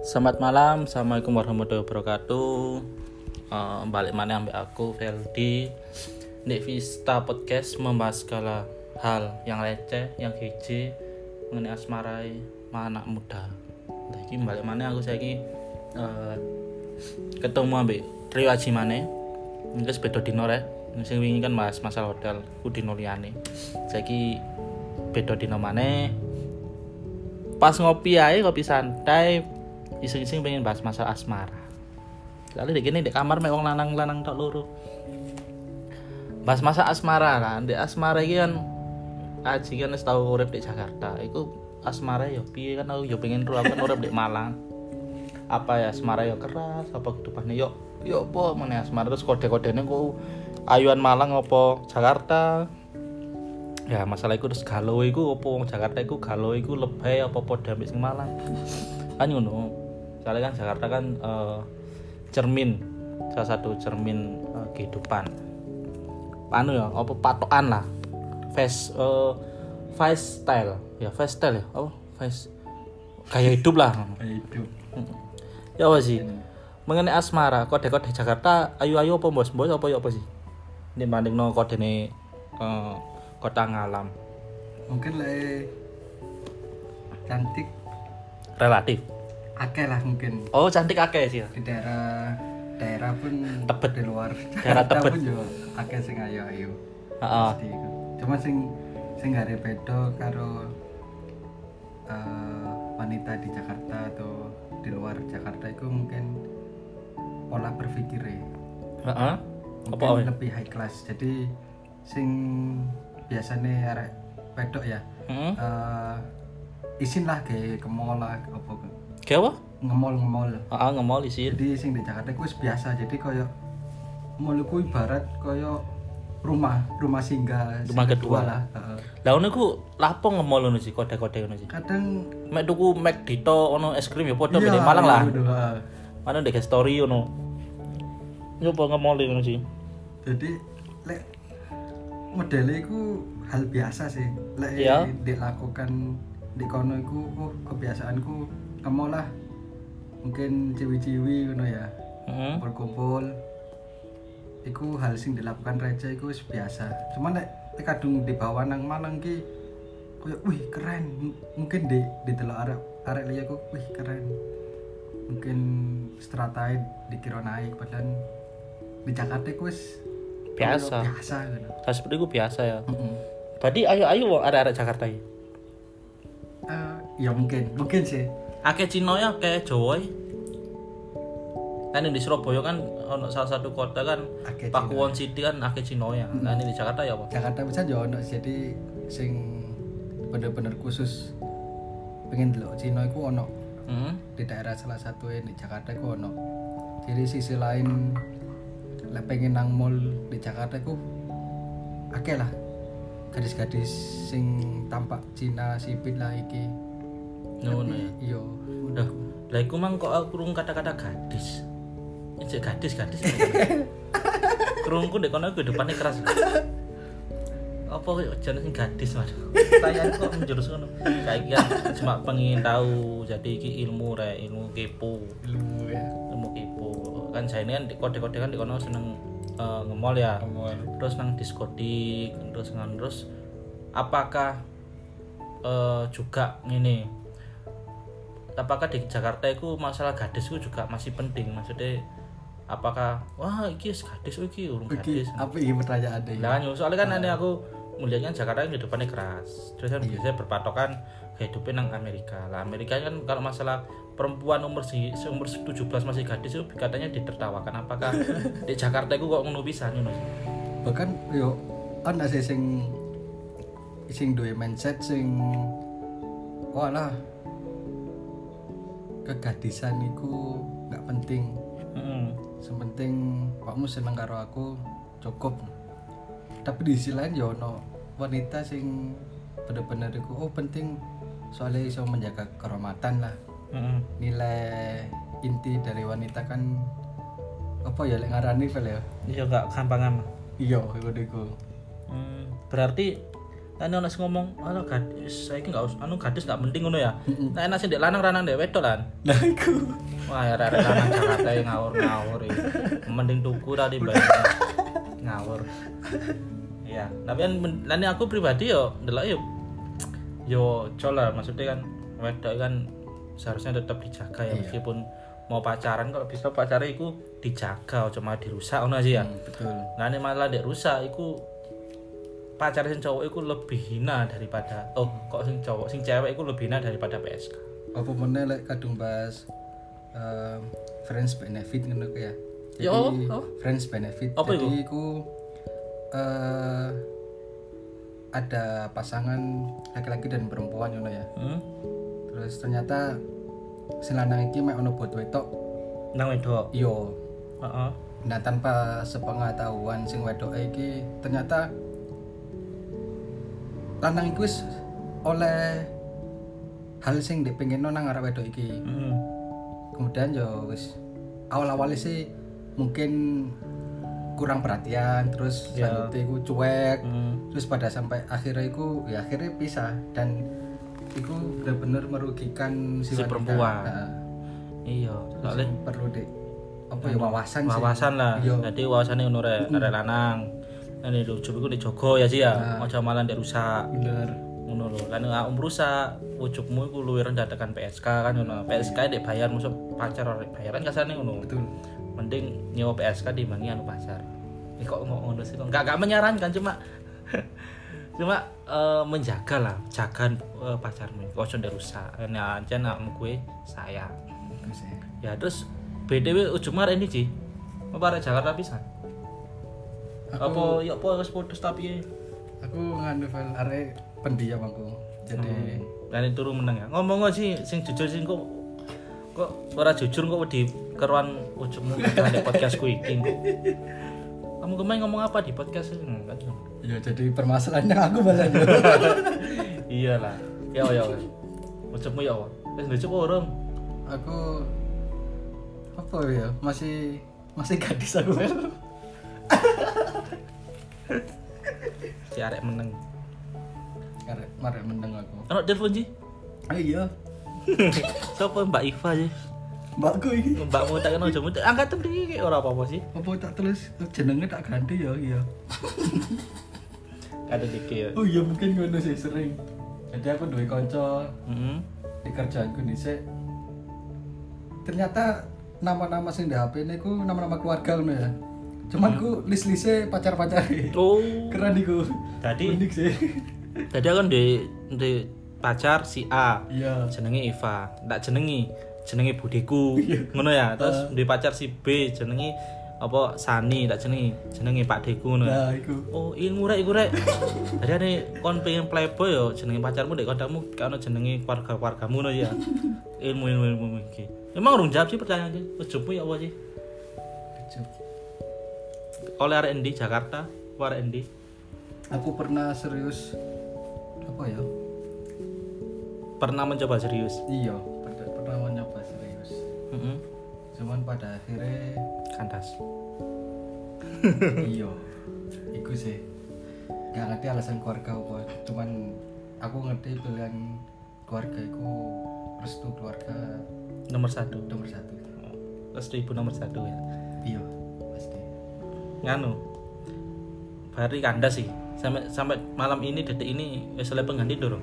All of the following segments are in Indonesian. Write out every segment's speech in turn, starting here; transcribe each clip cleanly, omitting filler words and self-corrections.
Selamat malam, assalamualaikum warahmatullahi wabarakatuh. Balik mana ambek aku Veldi di Vista Podcast, membahas segala hal yang receh, yang kece mengenai asmarai anak muda. Lagi balik mana aku saiki ketemu ambek Trio Aji mana? Mungkin beda dino rek. Sing wingi kan bahas masalah hotel, ku dino liyane. Saiki beda dino maneh. Pas ngopi ae, kopi santai, iseng-iseng pengen bahas masalah asmara. Lalu di kamar mek wong lanang-lanang tok loro. Bahas masalah asmara kan. Di asmara iki kan Aji kan wis tau urip di Jakarta. Iku asmara ya piye kan aku ya pengen ro aku urip di Malang. Apa ya asmara ya keras, apa kedupane yo apa meneh asmara terus kode-kodene ku ayuan Malang apa Jakarta. Ya masalah iku terus galau iku apa wong Jakarta iku galau iku lebay apa padha ambek sing Malang. Kan ngono. Soalnya kan Jakarta kan cermin, salah satu cermin kehidupan. Anu ya, apa patokan lah. Face style ya, apa? Face gaya hidup lah. Gaya hidup. Ya apa sih? Mengenai asmara, kode-kode Jakarta ayu-ayu apa bos-bos apa ya apa sih? Ini bandingno kodene kota ngalam. Mungkin lah cantik Relatif. akeh lah mungkin. Oh, cantik akeh sih. Di daerah pun Tebet. di luar Daerah Jakarta Tebet. pun juga akeh sing ayu-ayu. Heeh. Pasti iku. Cuma sing gak ada beda karo wanita di Jakarta atau di luar Jakarta itu mungkin pola berpikirnya. Heeh. Mungkin Apa? lebih high class. Jadi sing biasanya arek pedok ya. Heeh. Isin lah kayak ke mall lah apa Kayak apa? ngemol Heeh, ngemol isin. jadi sing di Jakarta itu biasa jadi koyo mall iku ibarat koyo rumah singgah Rumah kedua lah. Lah ngono iku lapo ngemol ngono sih, kode-kode ngono sih. Kadang Mek tuku McD to ono es krim ya padha iya, beda Malang lah. iya, iya. Mana ndek story ngono. Nyoba ngemol ngono sih. Jadi lek modelnya iku hal biasa sih lek Iya. dilakukan di kono iku kebiasaanku ngemol lah mungkin ciwi-ciwi ngono ya. Heeh. Kumpul iku hal sing dilakukan receh iku wis biasa. Cuman nek kadung dibawa nang Malang ki koyo wih keren. Mungkin di delok arek liya ku wih keren. Mungkin stratae dikira naik padahal di Jakarta ku wis Biasa. biasa gitu. Hal seperti itu biasa ya. Heeh. Berarti ayo wong arek-arek Jakarta iki. Ya mungkin sih. Akeh Cina ya, akeh Jawa. Kan di Surabaya kan ono salah satu kota kan Akeh Pakuwon City kan akeh Cina ya. Nah ini di Jakarta ya apa? Jakarta bisa yo ono jadi sing bener-bener khusus pengen delok Cina iku ono. Heeh. Di daerah salah satu di Jakarta ku ono. Jadi sisi lain lek pengen nang mall di Jakarta ku akeh lah gadis-gadis sing tampak Cina sipit lah iki. Ngono ya. Iya. Udah. Lah iku mang kok aku krungu kata-kata gadis. Ini gadis. Krungku ndek kono kehidupannya keras. Apa jenenge sing gadis mas? Tayang kok menjurus ngono. Saiki kan cuma pengen tahu jadi iki ilmu kepo. Ilmu ya. Ilmu kepo. Kan saya ini kan di kode-kode kan di kono seneng nge-mall ya. Terus nang diskotik, terus apakah juga ngene? Apakah di Jakarta itu masalah gadis itu juga masih penting? Maksudnya apakah wah iki gadis iki urung gadis. Apa iki pertanyaan deh? Lah soalnya kan ini aku melihatnya Jakarta kehidupannya keras. Terus kan biasanya berpatokan hidupnya nang Amerika. Lah Amerika kan kalau masalah perempuan umur 17 masih gadis itu katanya ditertawakan. Apakah di Jakarta itu kok ngono pisan ngono? Bahkan yo ana sing duwe mindset sing walah kegadisan iku nggak penting. Sementing kamu seneng karo aku cukup. Tapi di sisi lain ya ono wanita sing bener-bener iku penting soalnya iso menjaga kehormatan lah. Nilai inti dari wanita kan apa ya lek ngarani ya? Iya enggak gampangan. Iya iku. Berarti Kan ono sing ngomong, "Ala gadis, saiki enggak gadis enggak penting ngono ya." Nah, enak sing ndek lanang ranang ndek wedok lan. Nah iku. Wah, arek lanang Jakarta ngawur-ngawur iki. Mending tuku ra dibayar. Ngawur. Iya, tapi kan aku pribadi yo ndelok yo cola maksudnya kan wedok kan seharusnya tetap dijaga ya meskipun mau pacaran kalau bisa pacarnya itu dijaga cuma dirusak ngono aja ya. Betul. Nah, ini malah ndek rusak iku pacar sing cowok iku lebih hina daripada kok sing cowok sing cewek iku lebih hina daripada PSK. Apa meneh lek kadung bahas friends benefit ngono ku ya. Jadi friends benefit. Apa jadi iku ada pasangan laki-laki dan perempuan ngono ya. Terus ternyata sing lanang iki mek ono bot wedok nang wedok. Iya. Heeh. Nah, tanpa sepengetahuan sing wedok iki ternyata lanang iku wis oleh hal sing dipengino nang arep wedok iki. Kemudian yo wis awal-awalnya sih mungkin kurang perhatian, terus selanjutnya iku cuek, terus pada sampai akhirnya iku ya akhirnya pisah dan iku benar-benar merugikan si perempuan. Iya, soalnya perlu apa ya wawasan lah. Jadi wawasane ngono rek lanang. Nek ujug iku dijogo ya sih ya, aja malah ndek rusak. Bener. Ngono lho. Lan nek rusak, ujugmu iku luwih rendah tekan PSK kan ngono. PSK ndek bayar musuh pacar ora bayaran kasane ngono. Betul. Mending nyewa PSK dibanding anu pacar. Ini kok ngono sih kok enggak menyarankan cuma menjaga lah, jaga pacarmu. Kok ojo ndek rusak. Nah, ancen awakmu kuwi sayang. Ya terus BTW ujung arek ini Ci. Apa arek Jakarta pisan? Apa wis putus tapi aku nganu file arek pendiam aku. Jadi lan turu meneng ya. Ngomong sih sing jujur sing kok ora jujur kok wedi keruan ujungmu di podcastku iki. Kamu kemarin ngomong apa di podcast ini? Ya jadi permasalahannya aku malah. Iyalah. Ya. Ujungmu ya apa? Wis lucu apa urung? Aku apa ya? Masih gadis aku. Si arek meneng. Arek meneng aku. Ono telepon Ji? Ah iya. Sopo Mbak Iva sih? Mbakku iki. Mbakmu tak kena jamu. Angkat tem iki ora apa-apa sih. Apa tak tulis jenenge tak ganti ya iya. Ada dikit ya. Oh iya mungkin ngono sih sering. Jadi aku duwe kanca. Di kerjaanku dhisik. Ternyata nama-nama sing di HP ini ku nama-nama keluarga ngono ya. Cuman ku list-liste pacar-pacare. Oh. Keren iku. Tadi unik sih. Tadi aku di pacar si A. Iya. Jenenge Eva. Tak jenenge budeku. Ngono ya. Terus di pacar si B jenenge apa Sani, tak jenenge Pak Deku ngono. Nah, iku. Oh, iku rek. Jadi ane kon pengen playboy yo jenenge pacarmu ndek kontakmu kan jenenge keluarga-keluargamu ngono ya. Ilmu iki. Emang urung jawab sih pertanyaan iki. Ujungmu ya apa sih? Oleh arek endi Jakarta, arek endi? Aku pernah serius apa ya? Pernah mencoba serius. Iya, pernah mencoba serius. Cuman pada akhirnya kandas. Iya. Iku sih. Gak ngerti alasan keluarga apa. Cuman aku ngerti pilihan keluarga iku restu keluarga nomor satu. Restu ibu nomor 1 ya. Iya, pasti. Nganu. Bari kandas sih. Sampai malam ini detik ini wis oleh pengganti dorong.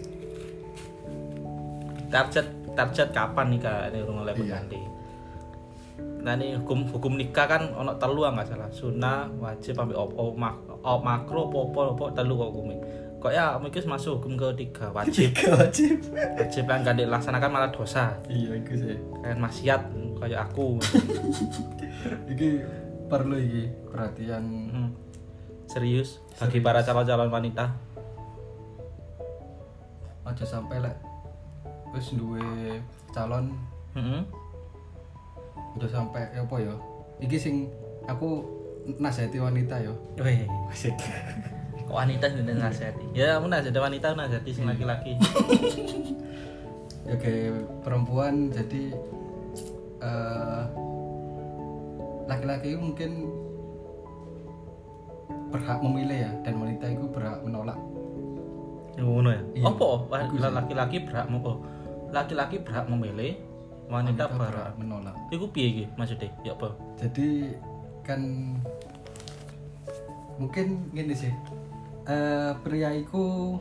Target kapan nikah ini urung oleh pengganti. Nah ini hukum nikah kan ono 3 enggak salah. Sunnah, wajib sampai makro apa telu kok hukumnya. Kok ya mungkin masuk hukum ketiga wajib. Wajib kan gak dilaksanakan malah dosa. Iya iku sih. Kayak maksiat kayak aku. Iki perlu iki perhatian serius bagi para calon-calon wanita. Aja sampai lek wis duwe calon udah sampai apa ya? Iki sing aku nasihati wanita ya. Weh, asik. Kok wanita sing nasihati? Ya, aku nasihati wanita, nasihati sing laki-laki. Ya kayak perempuan jadi laki-laki itu mungkin berhak memilih ya dan wanita itu berhak menolak ngono ya. Iya. Apa Iku sih. laki-laki berhak memilih, wanita berhak berhak menolak. Iku piye iki maksudnya? Ya apa? Jadi kan mungkin gini sih, pria iku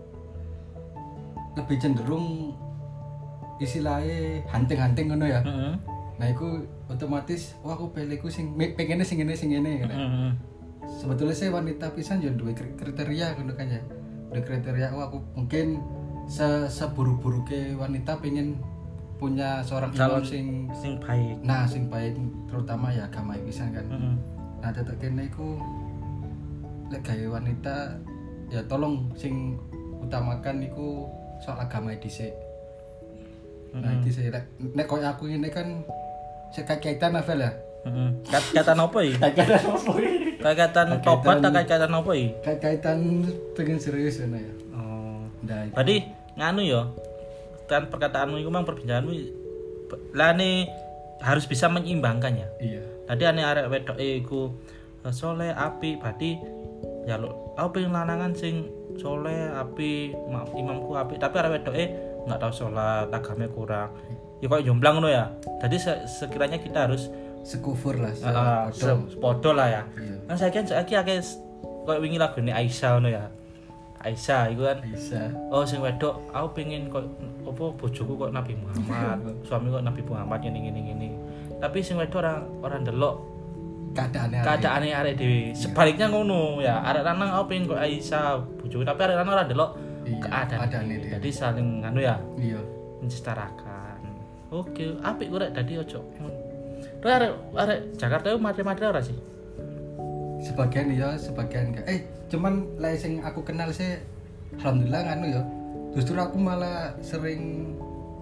lebih cenderung istilahnya hunting-hunting ngono ya. Heeh. Nah iku otomatis wah aku pilihku pengennya sing ngene kan. Heeh. Sebetulnya saya wanita pisan yo duwe kriteria ngono kan ya. Duwe kriteria aku mungkin seburu-buruke wanita pengen punya seorang Calon imam sing baik. nah sing baik terutama ya agama pisan kan. Heeh. Nah tetek kene iku lek gawe wanita ya tolong sing utamakan iku soal agama dhisik. Nah iki sih nek koyo aku ini kan kaitan novel ya. Heeh. Kaitan apa iki? Kaitan apa iki? Kaitan tobat atau kaitan apa iki? Kaitan pengen serius ngono ya. Oh. Nah, iku. Berarti nganu ya. Kan perkataanmu itu memang perbincanganmu lane harus bisa menyeimbangkan ya. Iya. Tadi ane arek wedoke iku soleh apik, berarti ya lo aku pengen lanangan sing soleh apik, imamku apik, tapi arek wedoke enggak tahu salat, agamanya kurang. Ya kok jomblang ngono ya. Jadi sekiranya kita harus Sekufur lah. sepodo lah ya. Iya. Kan saiki akeh koyo wingi lagune Aisyah ngono ya. Aisyah iku kan Bisa. oh sing wedok aku pengen kok apa bojoku kok Nabi Muhammad, suami kok Nabi Muhammad ngene. Tapi sing wedok ora ndelok keadaane arek dhewe. Sebaliknya ngono ya, arek lanang aku pengen kok Aisyah bojoku, tapi arek lanang ora ndelok keadaane dhewe. Jadi saling anu ya, Iya. mensetarakan. Oke, apik kok rek dadi ojo. Terus arek Jakarta itu matre-matre ora sih? Sebagian iya, sebagian enggak. Cuman lek sing aku kenal sih alhamdulillah nganu ya. Justru aku malah sering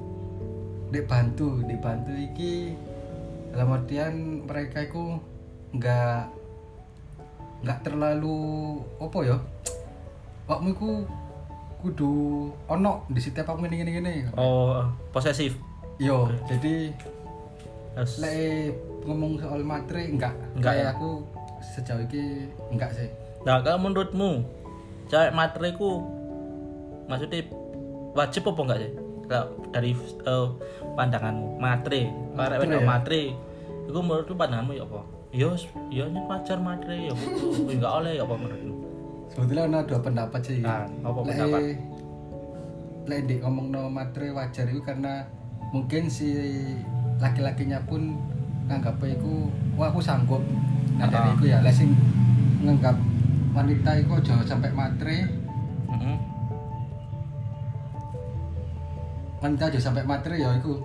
dibantu iki dalam artian mereka itu enggak terlalu apa ya? Wakmu iku kudu ono di setiap aku ngene. Oh, posesif. Yo, jadi Terus lek ngomong soal matre enggak ya? aku sejauh ini enggak sih. nah, kalau menurutmu cewek matre ku maksudnya wajib apa enggak sih? Kalau dari pandanganmu matre, arek wedok ya? matre, iku menurutmu pandanganmu ya apa? Ya ini wajar matre ya, enggak oleh ya apa menurutmu? Sebetulnya ada dua pendapat sih. Apa pendapat? Lek dik ngomongno matre wajar itu karena mungkin si laki-lakinya pun nganggap iku wah aku sanggup. Nah dari iku ya lek sing nganggap wanita iku aja sampai matre. Wanita aja sampai matre ya iku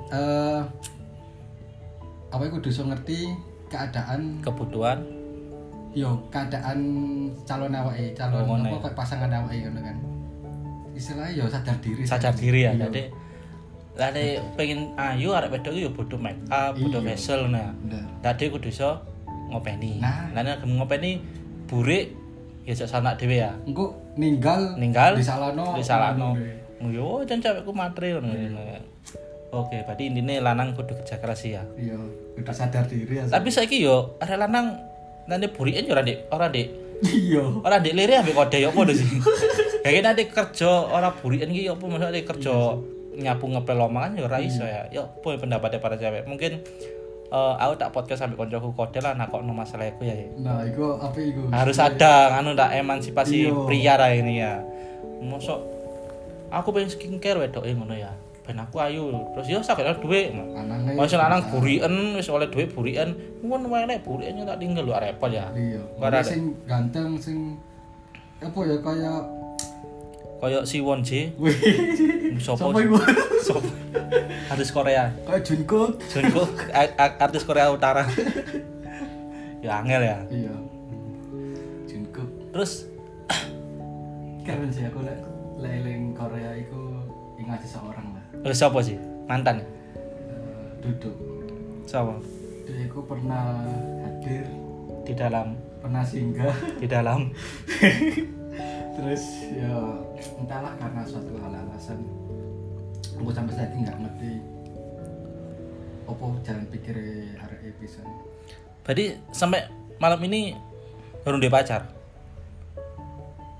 apa iku kudu ngerti keadaan Kebutuhan keadaan calon apa kok pasangan awake ngono kan. Istilahnya sadar diri ya. Jadi lane pengen ayu arek wedok yo butuh make up, butuh facial nah. Tadi kudu iso ngopeni. Lane ngopeni burik ya sak sanak dhewe ya. Engko ninggal disalahno. Yo jan cewekku matre ngono. Oke, berarti intine lanang kudu kerja keras ya. Iya, kudu sadar diri ya. Tapi saiki yo arek lanang nane buriken yo ora Dik. Iya. Ora Dik lire ambek kode yo apa sih? Kayak nanti kerja ora buriken iki opo maksudnya kerja nyapu ngepel omongan ya ora iso ya. Ya apa pendapatnya para cewek? Mungkin aku tak podcast sampai koncoku kode lah nakokno masalah iku ya. Nah, iku apa iku? Harus ada anu tak emansipasi pria lah ini ya. Mosok aku pengen skincare wedoke ngono ya. Ben aku ayu. Terus yo sakjane dhuwit. Wis lanang buriken, wis oleh dhuwit buriken. Ngono wae nek buriken tak tinggal lho repot ya. Iya. Sing ganteng sing apa ya kaya si Won J. Sopo iku? Sopo? Artis Korea. Kayak Jungkook, artis Korea Utara. Ya angel ya. Iya. Jungkook. Terus keren sih aku leleng Korea iku ingat seseorang lah. Terus siapa sih? Mantan? Duduk. Siapa? Dia iku pernah hadir di dalam, pernah singgah di dalam. Terus ya entahlah karena suatu alasan aku sampai saat ini nggak ngerti apa jalan pikir arek pisan. Berarti sampai malam ini baru dia pacar?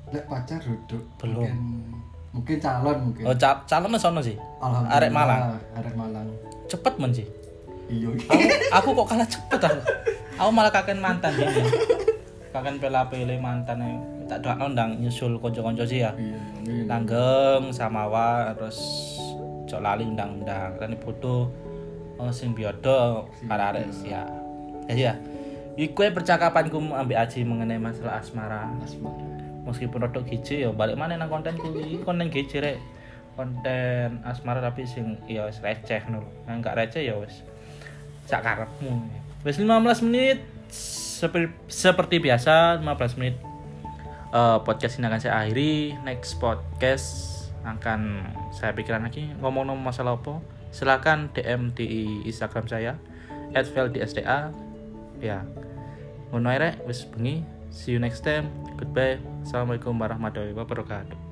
Lek pacar duduk. Belum. Mungkin calon mungkin. Oh, calon mas ono sih. Alhamdulillah. Arek Malang. Arek Malang. Cepet men sih. Iya. Aku kok kalah cepet aku. Aku malah kaken mantan gini. Kaken pela-pele mantane. Tak doakno ndang nyusul kanca-kanca sih ya. Iya, amin. Langgeng Samawa terus cok lali undang-undang kan foto sing biodo arek-arek ya. Ya. Iku percakapanku ambek Aji mengenai masalah asmara. Meskipun rodok gici ya balik mana nang kontenku iki konten gici rek. Konten asmara tapi sing ya wis receh ngono. Nang gak receh ya wis sak karepmu. Wis 15 menit seperti biasa 15 menit podcast ini akan saya akhiri. Next podcast akan saya pikiran lagi ngomong masalah apa. Silakan DM di Instagram saya @veldsda. Ya. Ngono ae rek wis bengi. See you next time. Goodbye. Assalamualaikum warahmatullahi wabarakatuh.